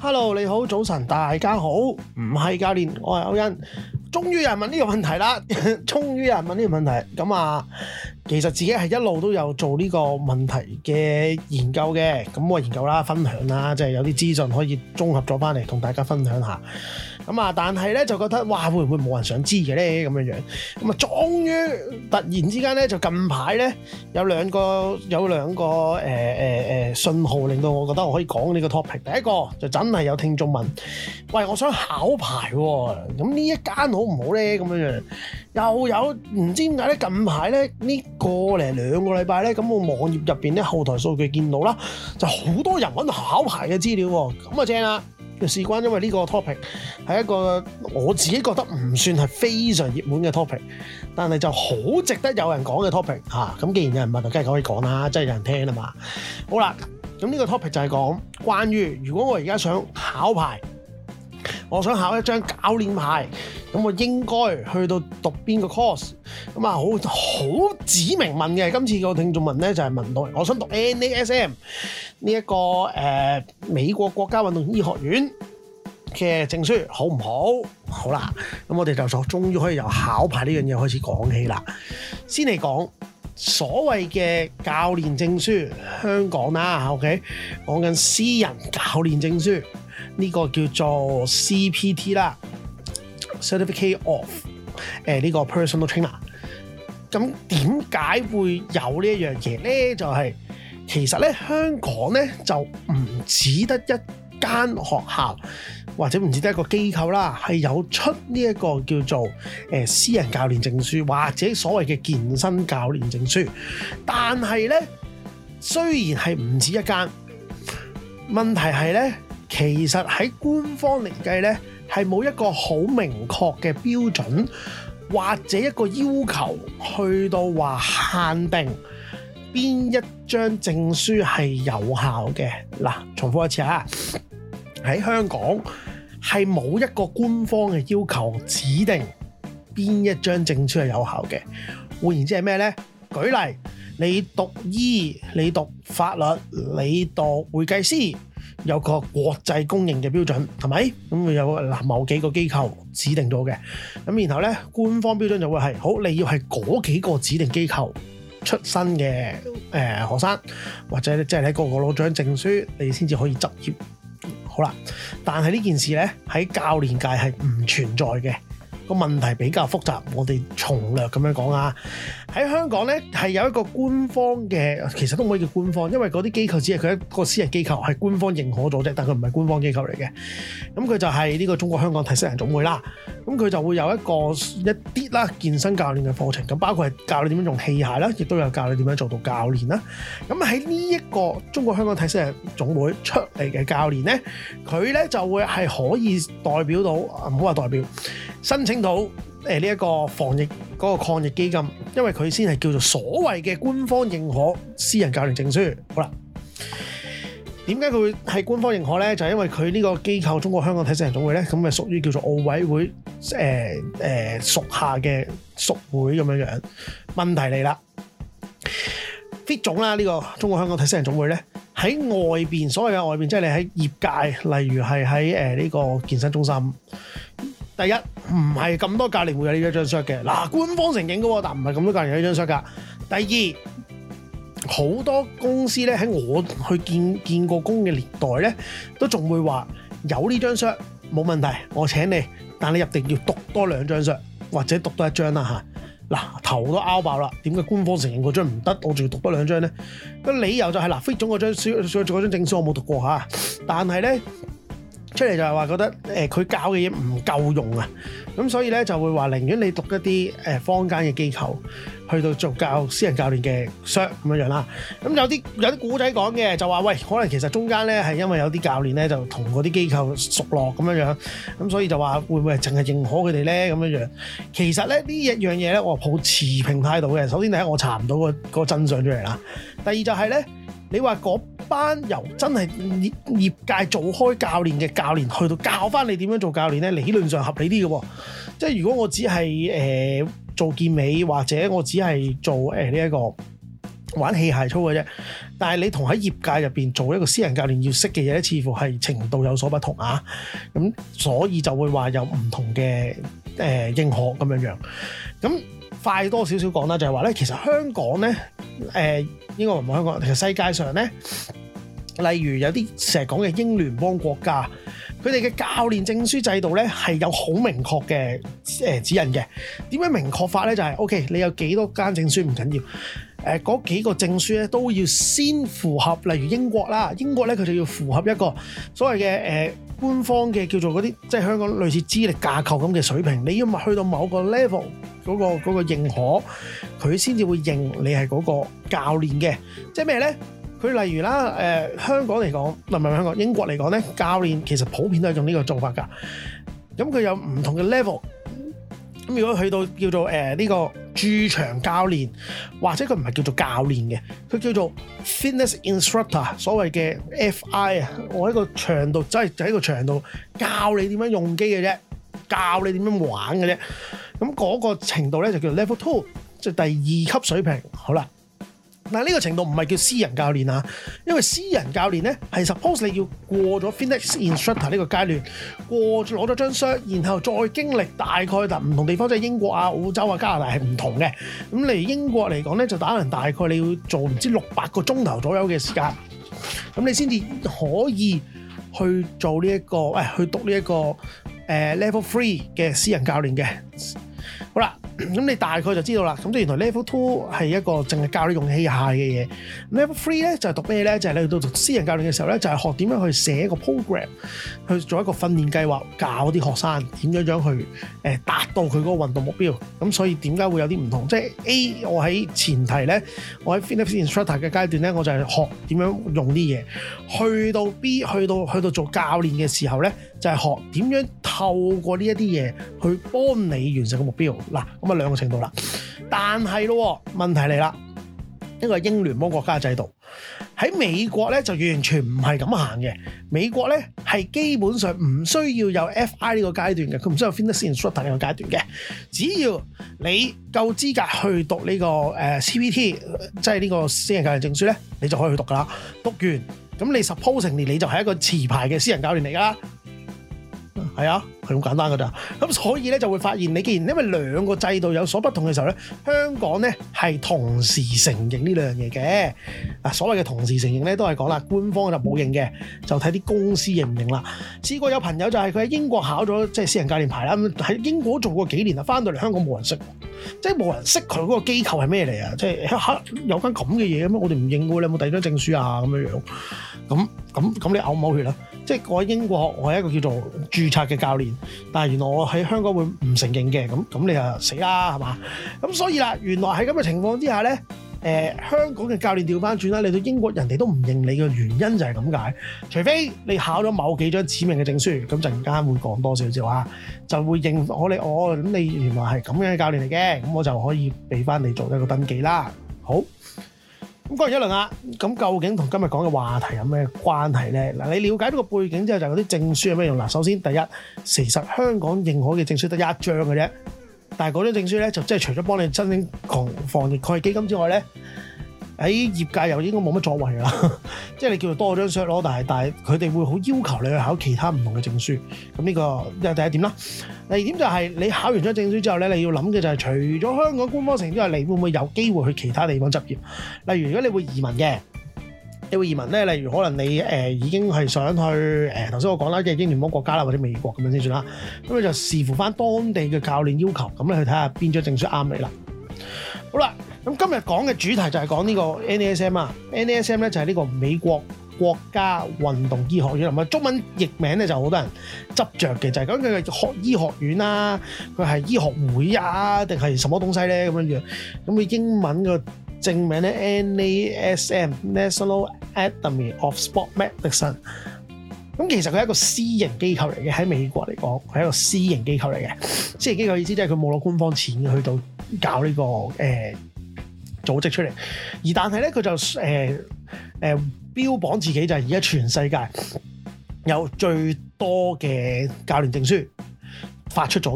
Hello， 你好，早晨，大家好，唔係教練，我係歐恩。終於有人問呢個問題啦，終於有人問呢個問題。咁啊，其實自己係一路都有做呢個問題嘅研究嘅。咁我研究啦，分享啦，即係有啲資訊可以綜合咗翻嚟同大家分享下。咁啊，但係咧就覺得哇，會唔會冇人想知嘅咧咁樣樣？咁啊，終於突然之間咧，就近排咧有兩個訊號令到我覺得我可以講呢個 topic。第一個就真係有聽眾問：喂，我想考牌喎，咁呢一間好唔好咧？咁樣樣又有唔知點解咧？近排咧呢個零兩個禮拜咧，咁我網頁入邊咧後台數據見到啦，就好多人揾考牌嘅資料喎，咁啊正啦！事關因為呢個 topic 係一個我自己覺得唔算係非常熱門嘅 topic， 但係就好值得有人講嘅 topic 嚇。咁既然有人問，就梗係可以講啦，真係有人聽啊嘛。好啦，咁呢個 topic 就係講關於如果我而家想考牌，我想考一張教練牌，咁我應該去到讀邊個 course？ 咁啊，好指明問嘅。今次個聽眾問咧就係問到，我想讀 NASM 呢一個美國國家運動醫學院嘅證書，好唔好？好啦，咁我哋就終於可以由考牌呢樣嘢開始講起啦。先嚟講所謂嘅教練證書，香港啦 ，OK， 講緊私人教練證書。呢個叫做 CPT 啦 ，Certificate of 呢個 Personal Trainer。咁點解會有呢一樣嘢咧？就係其實咧香港咧就唔只得一間學校或者唔止得一個機構啦，係有出呢一個叫做私人教練證書或者所謂嘅健身教練證書。但係咧雖然係唔止一間，問題係咧。其實喺官方嚟計咧，係冇一個好明確嘅標準，或者一個要求去到話限定邊一張證書係有效嘅。嗱，重複一次啊，喺香港係冇一個官方嘅要求指定邊一張證書係有效嘅。換言之係咩咧？舉例，你讀醫、你讀法律、你讀會計師。有個國際公認嘅標準，係咪？咁會有某幾個機構指定咗嘅，咁然後咧官方標準就會係好，你要係嗰幾個指定機構出身嘅學生，或者即係喺個個攞獎證書，你先至可以執業。好啦，但係呢件事咧喺教練界係唔存在嘅。個問題比較複雜，我哋從略咁樣講啊。喺香港咧係有一個官方嘅，其實都唔可以叫官方，因為嗰啲機構只係佢一個私人機構，係官方認可咗啫，但佢唔係官方機構嚟嘅。咁佢就係呢個中國香港體適能總會啦。咁佢就會有一啲啦健身教練嘅課程，咁包括係教你點樣用器械啦，亦都有教你點樣做到教練啦。咁喺呢一個中國香港體適能總會出嚟嘅教練咧，佢咧就會係可以代表到，唔好話代表，申請到呢一個防疫嗰個抗疫基金，因為佢先係叫做所謂嘅官方認可私人教練證書。好啦，點解佢會係官方認可咧？就係因為佢呢個機構中國香港體適能總會咧，咁咪屬於叫做奧委會屬下嘅屬會咁樣樣。問題嚟啦 ，fit 總啦，呢個中國香港體適能總會咧，喺外邊，所謂嘅外邊，即係你喺業界，例如係喺呢個健身中心。第一，唔係咁多教練會有呢張 cert 嘅，嗱，官方承認嘅喎，但唔係咁多教練有呢張 cert 㗎。第二，好多公司咧喺我去見過工嘅年代咧，都仲會話有呢張 cert 冇問題，我請你，但你入定要讀多2張 cert，或者讀多1張啦嚇。嗱，頭都拗爆啦，點解官方承認嗰張唔得，我仲要讀多2張咧？個理由就係fit 總嗰張證書我冇讀過嚇，但係咧。出嚟就係話覺得佢教嘅嘢唔夠用啊，咁所以咧就會話寧願你讀一啲坊間嘅機構去到做私人教練嘅 cert 咁樣啦。咁有啲古仔講嘅就話喂，可能其實中間咧係因為有啲教練咧就同嗰啲機構熟絡咁樣，咁所以就話會唔會係淨係認可佢哋咧咁樣？其實咧呢一樣嘢咧我抱持平態度嘅。首先第一，我查唔到個真相出嚟啦。第二就係咧，你話嗰班由真係業界做開教練嘅教練去到教翻你點樣做教練咧，理論上合理啲嘅喎。即係如果我只係做健美，或者我只係做呢一個玩器械操嘅啫，但係你同喺業界入邊做一個私人教練要識嘅嘢咧，似乎係程度有所不同啊。咁所以就會話有唔同嘅認可咁樣。咁快多少少講啦，就係話咧，其實香港咧應該唔係香港，其實世界上咧，例如有啲成日講嘅英聯邦國家，佢哋嘅教練證書制度咧係有好明確嘅指引嘅。點樣明確法咧？就係 OK， 你有幾多間證書唔緊要。嗰幾個證書咧都要先符合，例如英國啦，英國咧佢就要符合一個所謂嘅官方嘅叫做嗰啲，即係香港類似資歷架構咁嘅水平，你要去到某個 level 嗰個認可，佢先至會認你係嗰個教練嘅。即係咩咧？佢例如啦，香港嚟講，唔係香港，英國嚟講咧，教練其實普遍都係用呢個做法㗎。咁佢有唔同嘅 level。咁如果去到叫做呢個駐場教練，或者佢唔係叫做教練嘅，佢叫做 fitness instructor， 所謂嘅 FI 啊，我喺個場度真係就喺個場度教你點樣用機嘅啫，教你點樣玩嘅啫。咁嗰個程度咧就叫做 level 2，即係第2級水平。好啦。嗱，呢個程度唔係叫私人教練啊，因為私人教練咧係 suppose 你要過咗 fitness instructor 呢個階段，攞咗張章，然後再經歷大概唔同地方，即係英國啊、澳洲啊、加拿大係唔同嘅。咁嚟英國嚟講咧，就打人大概你要做唔知600個鐘頭左右嘅時間，咁你先至可以去做呢一個去讀呢一個level 3嘅私人教練嘅。好啦，咁你大概就知道啦。咁即係原來 level 2係一個淨係教你用器械嘅嘢。level 3咧就係讀咩咧？就係你去到讀私人教練嘅時候咧，就係學點樣去寫一個 program，去做一個訓練計劃，教啲學生點樣去達到佢嗰個運動目標。咁所以點解會有啲唔同？即係 A， 我喺前提咧，我喺 fitness instructor 嘅階段咧，我就係學點樣用啲嘢。去到 B， 去到做教練嘅時候咧，就係學點樣透過呢一啲嘢去幫你完成個目標。嗱，咁啊兩個程度啦，但係咯，問題嚟啦，呢個係英聯邦國家嘅制度，喺美國咧就完全唔係咁行嘅。美國咧係基本上唔需要有 FI 呢個階段嘅，佢唔需要 fitness instructor 呢個階段嘅，只要你夠資格去讀呢個CPT， 即係呢個私人教練證書咧，你就可以去讀噶啦。讀完咁你 supposingly 你就係一個持牌嘅私人教練嚟噶啦。係啊，係咁簡單噶咋。咁所以咧就會發現，你既然因為兩個制度有所不同嘅時候咧，香港咧係同時承認呢兩樣嘢嘅。嗱，所謂嘅同時承認咧，都係講啦，官方就冇認嘅，就睇啲公司認唔認啦。試過有朋友就係佢喺英國考咗即係私人教練牌啦，咁喺英國做過幾年啦，翻到嚟香港冇人識，即係冇人識佢嗰個機構係咩嚟啊？即係有間咁嘅嘢咩？我哋唔認喎，你有冇第二張證書啊？咁樣樣，咁你嘔唔嘔血啦？即係我喺英國學，我係一個叫做註冊嘅教練，但係原來我喺香港會唔承認嘅，咁你就死啦，係嘛？咁所以啦，原來喺咁嘅情況之下咧，香港嘅教練調翻轉啦，嚟到英國人哋都唔認你嘅原因就係咁解，除非你考咗某幾張指明嘅證書，咁陣間會講多少少啊，就會認咁你原來係咁樣嘅教練嚟嘅，咁我就可以俾翻你做一個登記啦。好。咁講完一輪啦，咁究竟同今日講嘅話題有咩關係咧？嗱，你了解到個背景之後，就嗰啲證書有咩用？嗱，首先第一，其實香港認可嘅證書得一張嘅啫，但係嗰張證書咧就即係除咗幫你申請防疫抗疫基金之外咧，喺業界又應該冇乜作為啦。即係你叫做多咗張 cert 咯，但係佢哋會好要求你去考其他唔同嘅證書。咁呢個係第一點啦。第二點就係你考完咗證書之後咧，你要諗嘅就係除咗香港官方承認之外，你會唔會有機會去其他地方執業？例如如果你會移民嘅，你會移民咧，例如可能你已經係想去頭先我講啦嘅英聯邦國家啦，或者美國咁樣先算啦。咁你就視乎翻當地嘅教練要求，咁你去睇下邊張證書啱你啦。好啦，咁今日講嘅主題就係講呢個 NASM 啊。NASM 咧就係呢個美國國家運動醫學院，咁啊中文譯名咧就好多人執着嘅，就係講佢嘅醫學院啦，佢係醫學會啊，定係什麼東西咧咁樣樣。咁佢英文嘅正名咧 NASM National Academy of Sport Medicine。咁其實佢係一個私營機構嚟嘅，喺美國嚟講，佢係一個私營機構嚟嘅。私營機構意思即係佢冇攞官方錢去到搞呢個組織出嚟，而但係咧佢就標榜自己就係而家全世界有最多嘅教練證書發出咗嘅，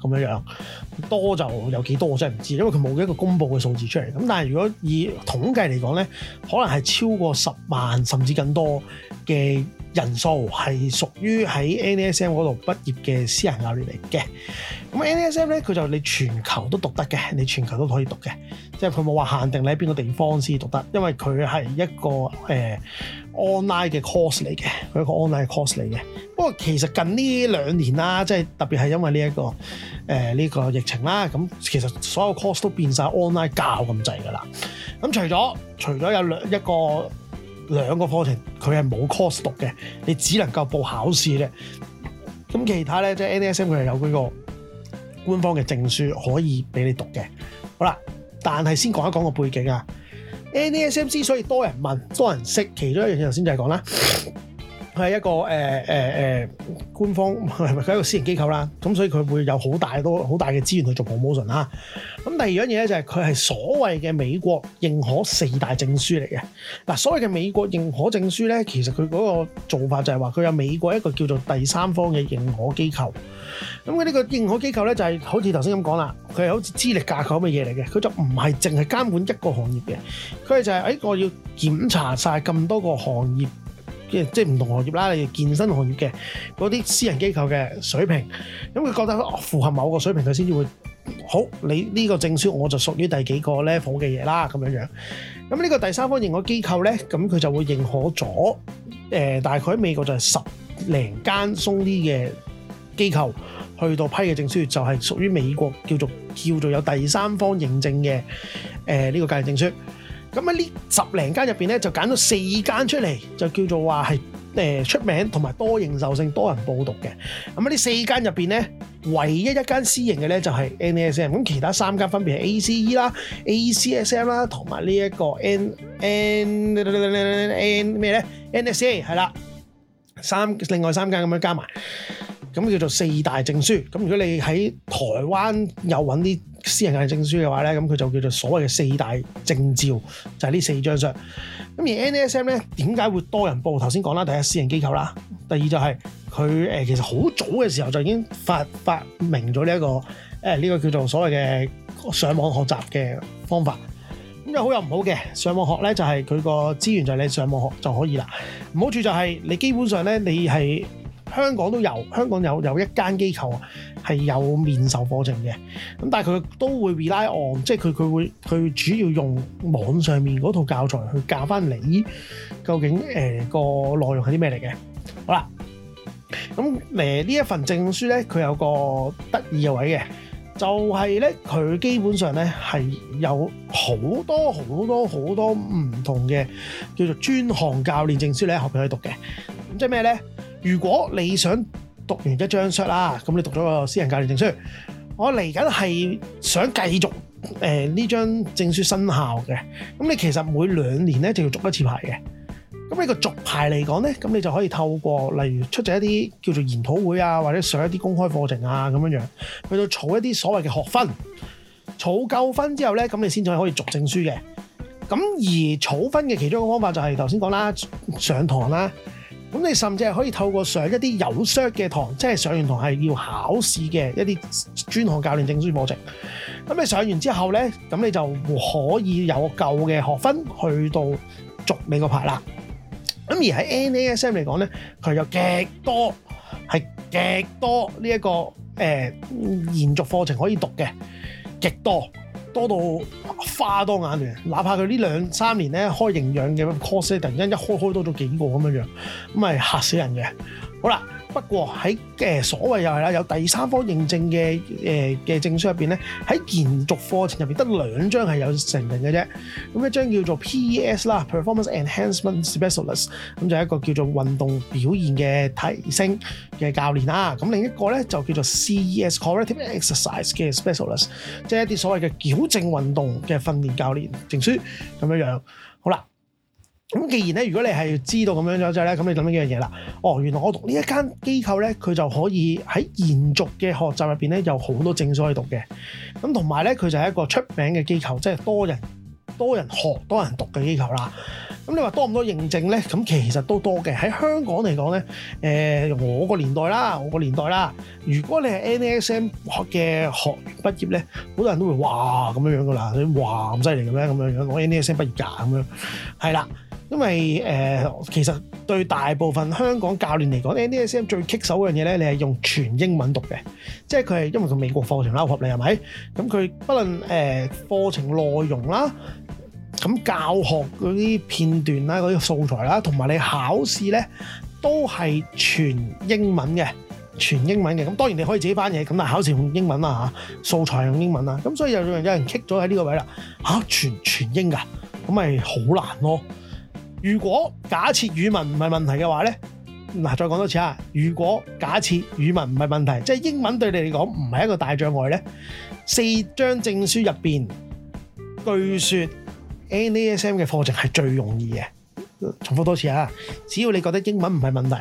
咁樣，多就有幾多我真係唔知，因為佢冇一個公佈嘅數字出嚟。咁但係如果以統計嚟講咧，可能係超過10萬甚至更多嘅人數係屬於喺 NASM 嗰度畢業嘅私人教練嚟嘅。咁 NASM 咧，佢就你全球都讀得嘅，你全球都可以讀嘅，即係佢冇話限定你喺邊個地方先讀得，因為佢係一個online 嘅 course 嚟嘅，佢一個 online course 嚟嘅。不過其實近呢2年啦，即係特別係因為呢個疫情啦，咁其實所有 course 都變晒 online 教咁滯㗎啦。咁除咗有兩個課程佢係冇 course 讀嘅，你只能夠報考試啫。咁其他咧，即係 NASM 佢係有嗰個官方嘅證書可以俾你讀嘅。好啦，但係先講一講個背景啊。NASM 之所以多人問、多人識，其中一樣嘢頭先就係講啦，佢係一個官方，佢係一個私人機構啦，咁所以佢會有好大嘅資源去做 promotion 啦。咁第二樣嘢咧就係佢係所謂嘅美國認可4大證書嚟嘅。嗱，所謂嘅美國認可證書咧，其實佢嗰個做法就係話佢有美國一個叫做第三方嘅認可機構。咁佢呢個認可機構咧就係好似頭先咁講啦，佢係好似資歷架構咁嘅嘢嚟嘅，佢就唔係淨係監管一個行業嘅，佢就係我要檢查晒咁多個行業。即係唔同行業啦，例如健身行業嘅嗰啲私人機構嘅水平，咁佢覺得符合某個水平，佢先至會好。你呢個證書我就屬於第幾個 level 嘅嘢啦，咁樣。咁呢個第三方認可機構咧，咁佢就會認可咗大概喺美國就係10零間鬆啲嘅機構去到批嘅證書，就係屬於美國叫做有第三方認證嘅呢個教練證書。咁喺呢10零間入邊咧，就揀咗4間出嚟，就叫做話係出名同埋多認受性、多人報讀嘅。咁喺呢4間入邊咧，唯一一間私營嘅咧就係 NASM， 咁其他3間分別係 ACE 啦、ACSM 啦，同埋呢一個 NSA 係啦，另外3間咁樣加埋，咁叫做4大證書。咁如果你喺台灣有揾啲私人教練證書嘅話咧，咁佢就叫做所謂嘅4大證照，就係呢4張相。咁而 NASM 咧點解會多人報？頭先講啦，第一私人機構啦，第二就係佢其實好早嘅時候就已經發明咗呢個叫做所謂嘅上網學習嘅方法。咁有好有唔好嘅，上網學咧就係佢個資源就係你上網學就可以啦。唔好處就係你基本上咧你係香港有一間機構係有面授課程嘅，咁但係佢都會 rely on， 即係佢主要用網上面嗰套教材去教翻你究竟個內容係啲咩嚟嘅。好啦，咁呢一份證書咧，佢有個得意嘅位嘅，就係咧佢基本上咧係有好多唔同嘅叫做專項教練證書你喺後邊可以讀嘅。咁即係咩咧？如果你想讀完一張 cert 啦，咁你讀咗個私人教練證書，我嚟緊係想繼續呢張證書生效嘅，咁你其實每2年咧就要續一次牌嘅。咁呢個續牌嚟講咧，咁你就可以透過例如出席一啲叫做研討會啊，或者上一啲公開課程啊咁樣去到儲一啲所謂嘅學分，儲夠分之後咧，咁你先至可以續證書嘅。咁而儲分嘅其中一個方法就係頭先講啦，上堂啦。咁你甚至係可以透過上一啲有 cert 嘅堂，即係上完堂係要考試嘅一啲專項教練證書課程。咁你上完之後咧，咁你就可以有舊嘅學分去到續你個牌啦。咁而喺 NASM 嚟講咧，佢有極多呢一個延續課程可以讀嘅，極多到花多眼亂，哪怕佢呢2-3年咧開營養嘅 course 突然間一開多咗幾個咁樣，咁係嚇死人嘅。好啦，不過喺所謂又係啦，有第三方認證嘅證書入邊咧，喺延續課程入邊得2張係有承認嘅啫。咁一張叫做 PES 啦 ，Performance Enhancement Specialist， 咁就係一個叫做運動表現嘅提升嘅教練啦。咁另一個咧就叫做 CES Corrective Exercise 嘅 Specialist， 即係一啲所謂嘅矯正運動嘅訓練教練證書咁樣。好啦。咁既然咧，如果你係知道咁樣咗之後咧，咁你諗緊一樣嘢啦。原來我讀呢一間機構咧，佢就可以喺延續嘅學習入邊咧，有好多證書可以讀嘅。咁同埋咧，佢就係一個出名嘅機構，即係多人學、多人讀嘅機構啦。 咁你話多唔多認證咧？咁其實都多嘅。喺香港嚟講咧，我個年代啦，如果你係 NASM 嘅學員畢業咧，好多人都會哇咁樣噶啦，你哇咁犀利嘅咩？咁樣攞 NASM 畢業㗎咁樣，係啦。因為其實對大部分香港教練嚟講 ，NASM 最棘手嗰樣嘢咧，你係用全英文讀嘅，即係佢係因為佢美國課程啦，合理係咪？咁佢不論課程內容啦，咁教學嗰啲片段啦、嗰啲素材啦，同埋你考試咧都係全英文嘅，咁當然你可以自己翻譯，咁但係考試用英文啦嚇，素材用英文啦，咁所以有人棘咗喺呢個位啦嚇，全英㗎，咁咪好難咯。如果假設語文唔係問題嘅話咧，嗱再講多次啊！如果假設語文唔係問題，即係英文對你嚟講唔係一個大障礙咧，4張證書入邊，據說 NASM 嘅課程係最容易嘅。重複多次啊！只要你覺得英文唔係問題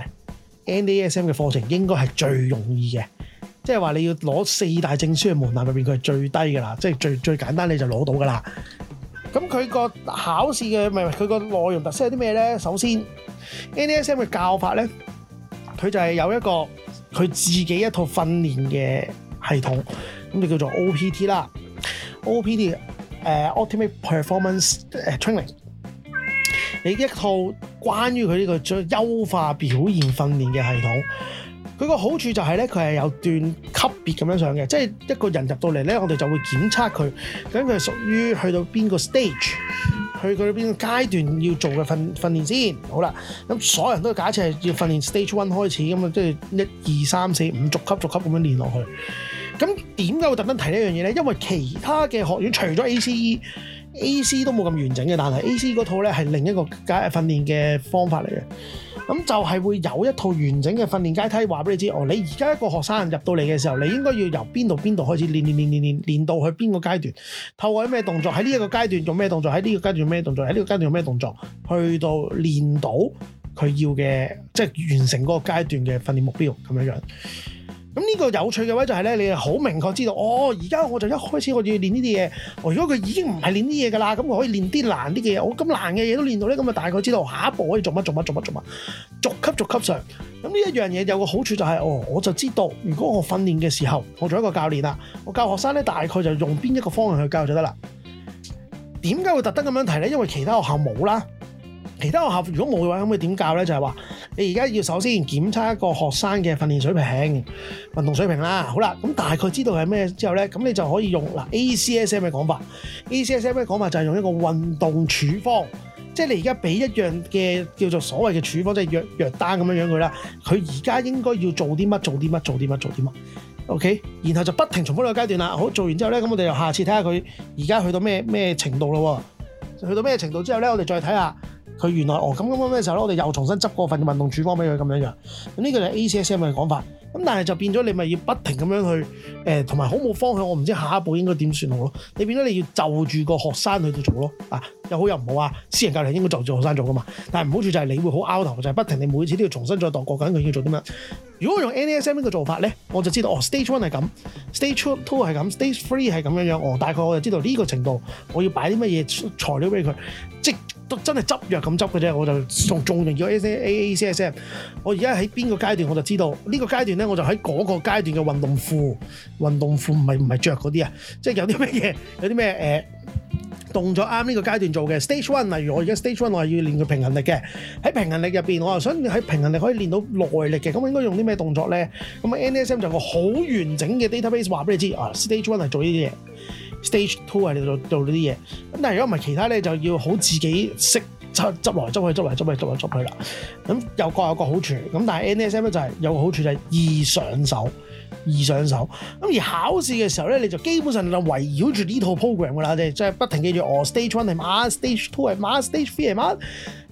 ，NASM 嘅課程應該係最容易嘅。即係話你要攞4大證書嘅門檻入邊，佢係最低㗎啦，即係最簡單你就攞到㗎啦。咁佢個考試嘅佢個內容特色係啲咩咧？首先 NASM 嘅教法咧，佢就係有一個佢自己一套訓練嘅系統，咁就叫做 OPT 啦。OPT Ultimate Performance Training， 你一套關於佢呢個優化表現訓練嘅系統。佢個好處就係咧，佢係有段級別咁樣上嘅，即係一個人入到嚟咧，我哋就會檢測佢，究竟佢係屬於去到邊個 stage， 去佢邊個階段要做嘅訓練先。好啦，咁所有人都假設係要訓練 stage 1開始，咁啊即係1、2、3、4、5逐級咁樣練落去。咁點解會特登提呢樣嘢咧？因為其他嘅學院除咗 ACE 都冇咁完整嘅，但係 ACE 嗰套咧係另一個訓練嘅方法嚟嘅。咁就係會有一套完整嘅訓練階梯，話俾你知。你而家一個學生入到嚟嘅時候，你應該要由邊度開始練到去邊個階段，透過咩動作，喺呢一個階段做咩動作，喺呢個階段做咩動作，喺呢個階段做咩動作，去到練到佢要嘅，即係完成嗰個階段嘅訓練目標咁樣樣。咁呢個有趣嘅位就係咧，你係好明確知道，而家我就一開始我要練呢啲嘢。如果佢已經唔係練啲嘢㗎啦，咁我可以練啲難啲嘅嘢。我咁難嘅嘢都練到咧，咁啊大概知道下一步可以做乜，逐級上。咁呢一樣嘢有個好處就係，我就知道，如果我訓練嘅時候，我做一個教練啦，我教學生咧，大概就用邊一個方向去教就得啦。點解會特登咁樣提咧？因為其他學校冇啦。其他學校如果冇嘅話，咁佢點教咧？就係話你而家要首先檢測一個學生嘅訓練水平、運動水平啦。好啦，咁大概知道係咩之後咧，咁你就可以用ACSM 嘅講法。ACSM 嘅講法就係用一個運動處方，即係你而家俾一樣嘅叫做所謂嘅處方，即係藥單咁樣佢啦。佢而家應該要做啲乜？OK， 然後就不停重複呢個階段啦。好，做完之後咧，咁我哋就下次睇下佢而家去到咩程度咯。去到咩程度之後咧，我哋再睇下。佢原來咁嘅時候咧，我哋又重新執過份運動處方俾佢咁樣樣。咁呢個就係 ACSM 嘅講法。咁但係就變咗你咪要不停咁樣去同埋好冇方向。我唔知下一步應該點算好咯。你變咗你要就住個學生去到做咯。又好又唔好啊。私人教練應該就住學生做噶嘛。但係唔好處就係你會好拗頭，就係不停你每次都要重新再度過緊佢要做啲乜。如果我用 NASM 呢個做法咧，我就知道Stage 1係咁 ，Stage 2係咁 ，Stage 3係咁樣樣。大概我就知道呢個程度我要擺啲乜嘢材料俾佢，即都真係執藥咁執嘅啫。我就仲用咗 ACSM。我而家喺邊個階段我就知道呢個階段咧，我就喺嗰個階段嘅運動褲唔係着嗰啲啊，即係有啲咩嘢，有啲咩動作啱呢個階段做嘅 Stage 1，例如我而家 Stage 1我係要練佢平衡力嘅，喺平衡力入邊我又想喺平衡力可以練到耐力嘅，咁我應該用啲咩動作咧？咁NASM 就有個好完整嘅 database 話俾你知，Stage 1係做呢啲嘢，Stage 2係你做呢啲嘢。咁但係如果唔係其他咧，就要好自己識執來執去啦。咁有各有個好處，咁但係 NASM 咧就係有個好處就係易上手。咁而考試嘅時候咧，你就基本上就圍繞住呢套 program 噶啦，即係不停記住Stage 1係乜，Stage 2係乜，Stage 3係乜，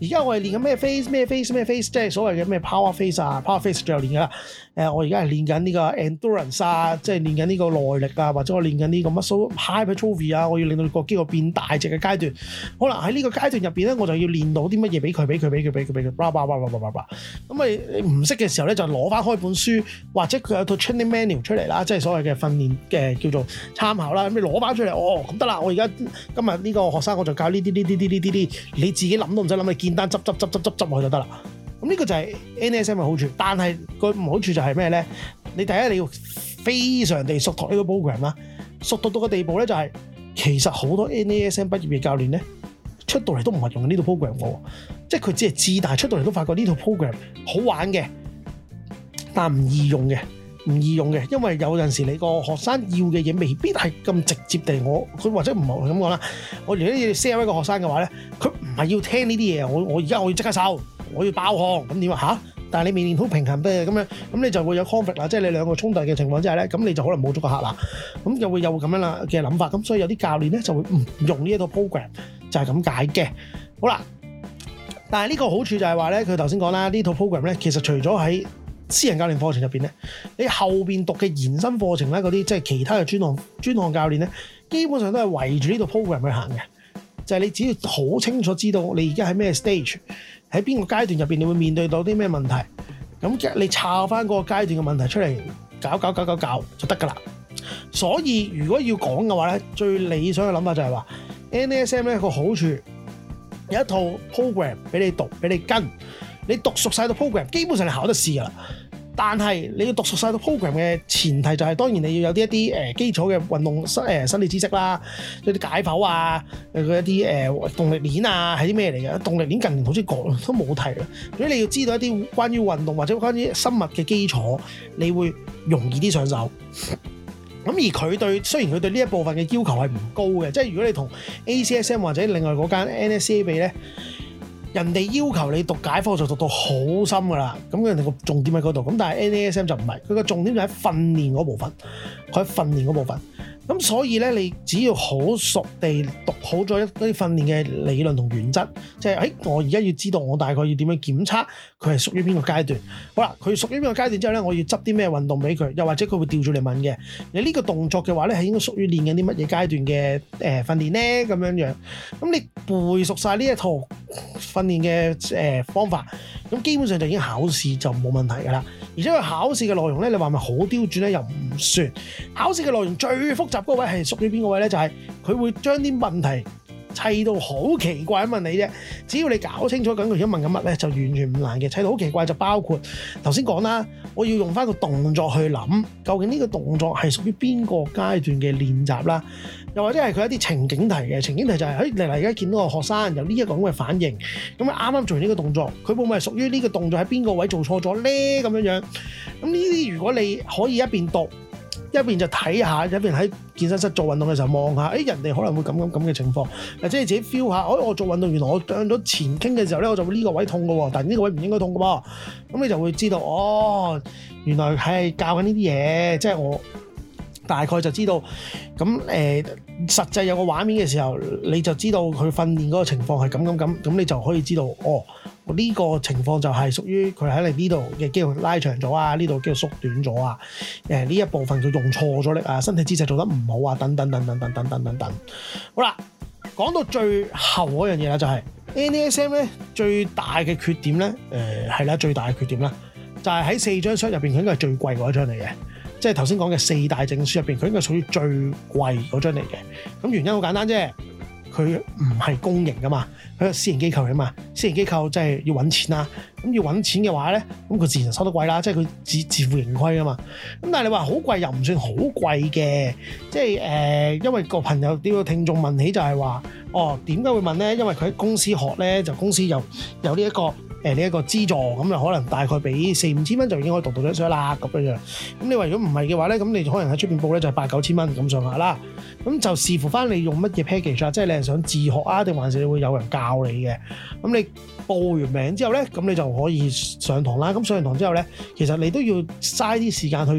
而家我係練緊咩 face，即係所謂嘅咩 power face 啊 ，power face 最後練㗎啦。我而家係練緊呢個 endurance 啊，即係練緊呢個耐力啊，或者我練緊呢個 muscle hypertrophy 啊，我要令到個肌肉變大隻嘅階段。好啦，喺呢個階段入邊咧，我就要練到啲乜嘢俾佢，咁你唔識嘅時候咧，就攞翻開本書，或者佢有套 training manual 出嚟啦，即係所謂嘅訓練嘅叫做參考啦。咁你攞翻出嚟，咁得啦，我而家今日呢個學生我就教呢啲，你自己諗都唔使諗，你見單執落去就得啦。咁呢個就係 NASM 嘅好處，但係個唔好處就係咩咧？你第一你要非常地熟讀呢個 program 啦，熟讀到個地步咧就係、其實好多 NASM 畢業嘅教練咧出到嚟都唔係用呢套 program 嘅，即係佢只係知，但係出到嚟都發覺呢套 program 好玩嘅，但唔易用嘅，因為有陣時你個學生要嘅嘢未必係咁直接地，佢或者唔係咁講啦。我如果要 sell 一個學生嘅話咧，佢唔係要聽呢啲嘢，我而家我要即刻收，我要爆汗，咁點啊嚇？但係你未練好平衡嘅咁樣，咁你就會有 conflict 啦，即係你兩個衝突嘅情況之下咧，咁你就可能冇咗個客啦，咁就會有咁樣啦嘅諗法，咁所以有啲教練咧就會唔用呢一套 program，就係咁解嘅。好啦，但係呢個好處就係話咧，佢頭先講啦，呢套 program 咧其實除咗喺私人教練課程入邊咧，你後邊讀嘅延伸課程咧，嗰啲即係其他嘅專項教練咧，基本上都係圍住呢套 program 去行嘅。就係你只要好清楚知道你而家喺咩 stage， 喺邊個階段入邊，你會面對到啲咩問題，咁你抄翻嗰個階段嘅問題出嚟，搞就得㗎啦。所以如果要講嘅話咧，最理想嘅諗法就係話 NASM 咧個好處有一套 program 俾你讀，俾你跟，你讀熟晒套 program， 基本上你考得試㗎啦。但係你要讀熟晒套 program 嘅前提就係，當然你要有啲基礎嘅運動生理知識啦，有啲解剖啊，佢一啲動力鏈啊係啲咩嚟嘅？動力鏈近年好似講都冇提啦。如果你要知道一啲關於運動或者關於生物嘅基礎，你會容易啲上手。咁而佢雖然佢對呢一部分嘅要求係唔高嘅，即係如果你同 ACSM 或者另外嗰間 NSCA 比咧，人哋要求你讀解科就讀到好深噶啦，咁人哋個重點喺嗰度，咁但係 NASM 就唔係，佢個重點就喺訓練嗰部分，咁所以咧，你只要好熟地讀好咗一啲訓練嘅理論同原則，即係我而家要知道我大概要點樣檢測佢係屬於邊個階段。好啦，佢屬於邊個階段之後咧，我要執啲咩運動俾佢，又或者佢會調住嚟問嘅，你呢個動作嘅話咧係應該屬於練緊啲乜嘢階段嘅訓練咧咁樣。咁你背熟晒呢一套訓練嘅方法，咁基本上就已經考試就冇問題㗎啦。而且佢考試嘅內容咧，你話咪好刁鑽咧？又唔算。考試嘅內容最複雜嗰位係屬於邊個位咧？就係佢會將啲問題砌到好奇怪咁問你啫。只要你搞清楚究竟佢而家問緊乜咧，就完全唔難嘅。砌到好奇怪就包括頭先講啦，我要用翻個動作去諗，究竟呢個動作係屬於邊個階段嘅練習啦。又或者係佢一啲情景題嘅情景題就係你而家見到個學生有呢一個咁嘅反應，咁啱啱做完呢個動作，佢會唔會係屬於呢個動作喺邊個位做錯咗咧？咁樣，咁呢啲如果你可以一邊讀一邊就睇下，一邊喺健身室做運動嘅時候望下，人哋可能會咁嘅情況，或者你自己 feel 下，我做運動原來我向咗前傾嘅時候咧，我就會呢個位痛嘅喎，但係呢個位唔應該痛嘅喎，咁你就會知道原來係教緊呢啲嘢，即係我大概就知道，咁實際有個畫面嘅時候，你就知道佢訓練嗰個情況係咁，你就可以知道呢個情況就係屬於佢喺你呢度嘅肌肉拉長咗啊，呢度肌肉縮短咗啊，呢一部分佢用錯咗力啊，身體姿勢做得唔好啊，等等。好啦，講到最後嗰樣嘢啦，就係 NASM 咧最大嘅缺點咧，最大嘅缺點啦，就係喺4張 cert 入邊，佢應該係最貴嗰一張嚟嘅。即係頭先講嘅4大證書入邊，佢應該屬於最貴嗰張嚟嘅。咁原因好簡單啫，佢唔係公營噶嘛，佢係私人機構嚟嘛。私人機構即係要揾錢啦。咁要揾錢嘅話咧，咁佢自然收得貴啦，即係佢自負盈虧噶嘛。咁但係你話好貴又唔算好貴嘅，即係因為個朋友呢個聽眾問起就係話，點解會問咧？因為佢喺公司學咧，就公司有呢一個資助，咁就可能大概俾4-5千蚊就已經可以讀到張 cert 啦咁樣。咁你話如果唔係嘅話咧，咁你可能喺出邊報咧就係8-9千蚊咁上下啦。咁就視乎翻你用乜嘢 package 啊，即係你係想自學啊，定還是你會有人教你嘅？咁你報完名之後咧，咁你就可以上堂啦。咁上完堂之後咧，其實你都要嘥啲時間去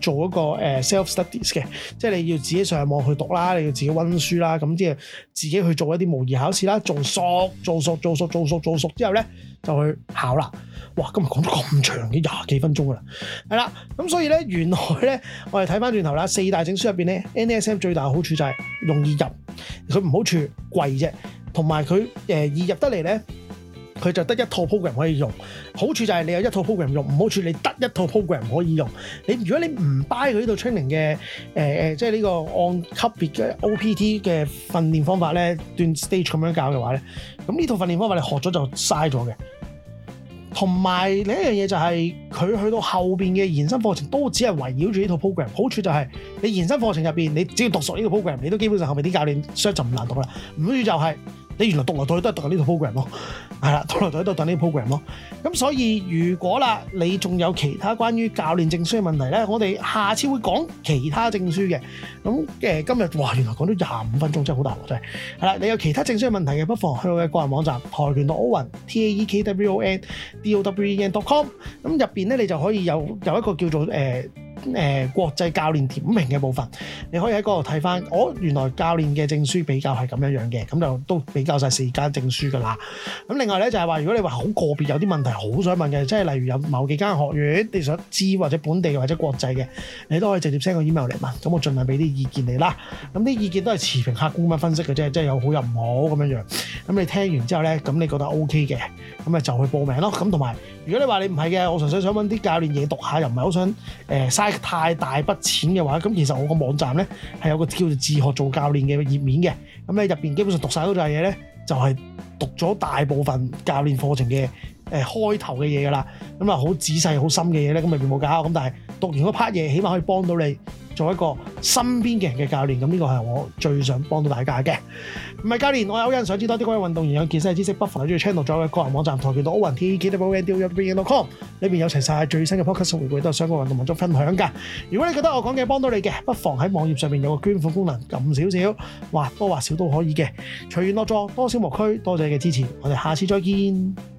做一個self studies 嘅，即係你要自己上網去讀啦，你要自己溫書啦，咁即係自己去做一啲模擬考試啦，做熟之後咧就去考啦。哇！今日講咗咁長嘅20幾分鐘㗎啦，係啦，咁所以咧原來咧我哋睇翻轉頭啦，4大證書入邊咧 NASM 最大嘅好處就係容易入，佢唔好處貴啫，同埋佢易入得嚟咧。佢就得一套 program 可以用，好處就係你有一套 program 用，唔好處你得一套 program 可以用。如果你唔 buy 佢呢度 training 嘅即係呢個按級別嘅 OPT 嘅訓練方法咧，斷 stage 咁樣教嘅話咧，咁呢套訓練方法你學咗就嘥咗嘅。同埋另一樣嘢就係佢去到後邊嘅延伸課程都只係圍繞住呢套 program， 好處就係你延伸課程入邊，你只要讀熟呢套 program， 你都基本上後面啲教練 search 就唔難讀啦。唔好處就係你原來讀來讀去都係讀緊呢套 program 咯，係啦，讀來讀去都係讀呢套 program 咯。咁所以如果啦，你仲有其他關於教練證書嘅問題咧，我哋下次會講其他證書嘅。咁今日哇，原來講咗25分鐘，真係好大鑊真係。係啦，你有其他證書嘅問題嘅，不妨去我嘅個人網站跆拳道歐雲 TAEKWONDOWEN.com， 咁入邊咧你就可以有一個叫做國際教練點評嘅部分，你可以喺嗰度睇翻，原來教練嘅證書比較係咁樣嘅，咁就都比較晒4間證書噶啦。咁另外咧就係話，如果你話好個別有啲問題好想問嘅，即係例如有某幾間學院你想知或者本地或者國際嘅，你都可以直接 send 個 email 嚟問，咁我盡量俾啲意見你啦。咁啲意見都係持平客觀咁樣分析嘅啫，即係有好有唔好咁樣。咁你聽完之後咧，咁你覺得 OK 嘅，咁咪就去報名咯。咁同埋如果你話你唔係嘅，我純粹想揾啲教練嘢讀下，又唔係好想嘥太大筆錢嘅話，咁其實我個網站咧係有個叫做自學做教練嘅頁面嘅，咁你入邊基本上讀晒嗰扎嘢咧，就係讀咗大部分教練課程嘅開頭嘅嘢噶啦，咁啊好仔細好深嘅嘢咧，咁咪冇教，咁但係讀完嗰 part 嘢，起碼可以幫到你做一個身邊嘅人嘅教練，咁呢個係我最想幫到大家嘅。唔係教練，我有人想知多啲關於運動營養健身嘅知識，不妨喺住 channel 咗嘅個人網站跆拳道歐雲 TAEKWONDOWEN.com， 裏邊有齊晒最新嘅 podcast 回顧，都係相關運動文章分享㗎。如果你覺得我講嘅幫到你嘅，不妨喺網頁上面有個捐款功能，撳少少，或多或少都可以嘅。隨緣樂助，多少無拘，多謝你嘅支持，我哋下次再見。